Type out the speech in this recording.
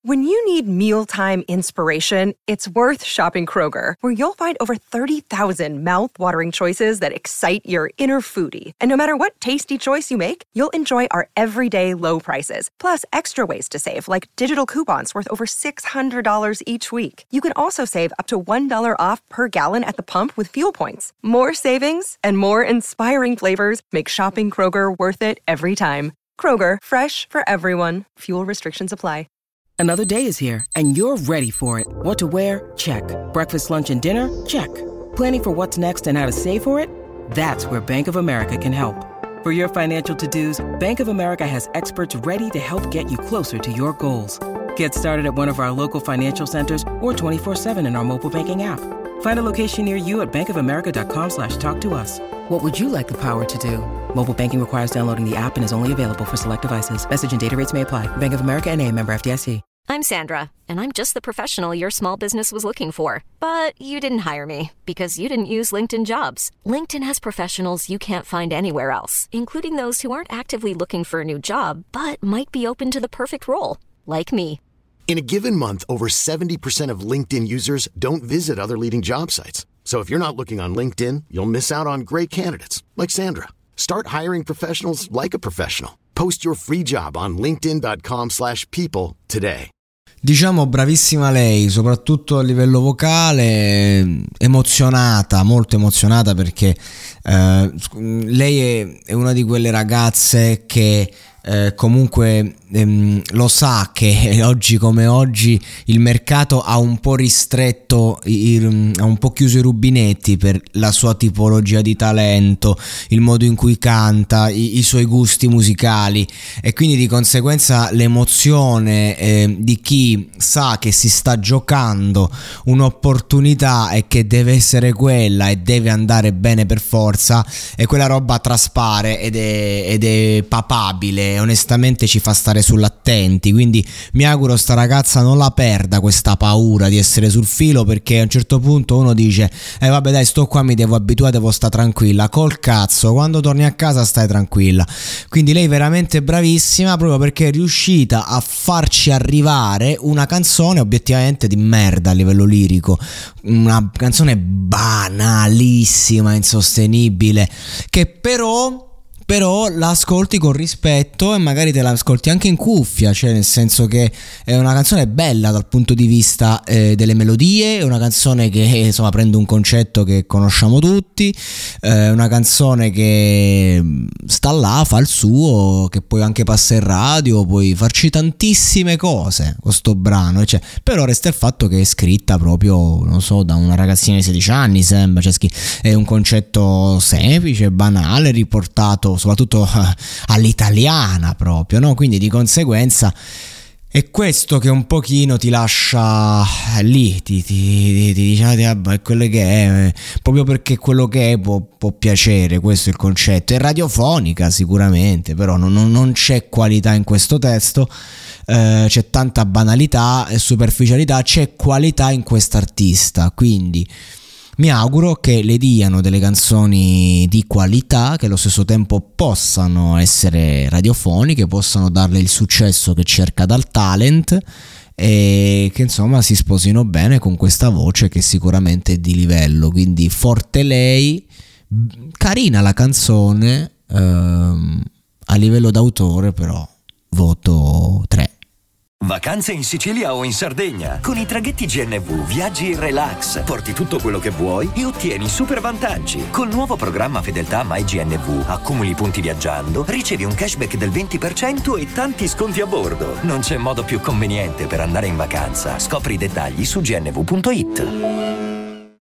When you need mealtime inspiration, it's worth shopping Kroger, where you'll find over 30,000 mouth-watering choices that excite your inner foodie. And no matter what tasty choice you make, you'll enjoy our everyday low prices, plus extra ways to save, like digital coupons worth over $600 each week. You can also save up to $1 off per gallon at the pump with fuel points. More savings and more inspiring flavors make shopping Kroger worth it every time. Kroger, fresh for everyone. Fuel restrictions apply. Another day is here, and you're ready for it. What to wear? Check. Breakfast, lunch, and dinner? Check. Planning for what's next and how to save for it? That's where Bank of America can help. For your financial to-dos, Bank of America has experts ready to help get you closer to your goals. Get started at one of our local financial centers or 24/7 in our mobile banking app. Find a location near you at bankofamerica.com/talktous. What would you like the power to do? Mobile banking requires downloading the app and is only available for select devices. Message and data rates may apply. Bank of America N.A., member FDIC. I'm Sandra, and I'm just the professional your small business was looking for. But you didn't hire me because you didn't use LinkedIn Jobs. LinkedIn has professionals you can't find anywhere else, including those who aren't actively looking for a new job, but might be open to the perfect role, like me. In a given month, over 70% of LinkedIn users don't visit other leading job sites. So if you're not looking on LinkedIn, you'll miss out on great candidates like Sandra. Start hiring professionals like a professional. Post your free job on linkedin.com/people today. Diciamo bravissima lei, soprattutto a livello vocale, emozionata, molto emozionata, perché lei è una di quelle ragazze che comunque lo sa che oggi come oggi il mercato ha un po' ristretto, ha un po' chiuso i rubinetti per la sua tipologia di talento, il modo in cui canta, i suoi gusti musicali, e quindi di conseguenza l'emozione di chi sa che si sta giocando un'opportunità e che deve essere quella e deve andare bene per forza, e quella roba traspare ed è papabile, onestamente ci fa stare sull'attenti. Quindi mi auguro sta ragazza non la perda questa paura di essere sul filo, perché a un certo punto uno dice vabbè dai, sto qua, mi devo abituare, devo sta tranquilla. Col cazzo, quando torni a casa stai tranquilla. Quindi lei veramente bravissima, proprio perché è riuscita a farci arrivare una canzone obiettivamente di merda a livello lirico, una canzone banalissima, insostenibile, che però la ascolti con rispetto e magari te la ascolti anche in cuffia, cioè nel senso che è una canzone bella dal punto di vista delle melodie, è una canzone che insomma prende un concetto che conosciamo tutti, una canzone che sta là, fa il suo, che poi anche passa in radio, puoi farci tantissime cose con sto brano, cioè, però resta il fatto che è scritta proprio, non so, da una ragazzina di 16 anni sembra, cioè è un concetto semplice, banale, riportato soprattutto all'italiana proprio, no? Quindi di conseguenza è questo che un pochino ti lascia lì, ti dice è quello che è, proprio perché quello che è può piacere, questo è il concetto. È radiofonica sicuramente, però non c'è qualità in questo testo, c'è tanta banalità e superficialità, c'è qualità in quest'artista, quindi mi auguro che le diano delle canzoni di qualità, che allo stesso tempo possano essere radiofoniche, possano darle il successo che cerca dal talent, e che insomma si sposino bene con questa voce che sicuramente è di livello. Quindi forte lei, carina la canzone, a livello d'autore però voto 3. Vacanze in Sicilia o in Sardegna. Con i traghetti GNV viaggi in relax, porti tutto quello che vuoi e ottieni super vantaggi. Col nuovo programma Fedeltà MyGNV accumuli punti viaggiando, ricevi un cashback del 20% e tanti sconti a bordo. Non c'è modo più conveniente per andare in vacanza. Scopri i dettagli su gnv.it.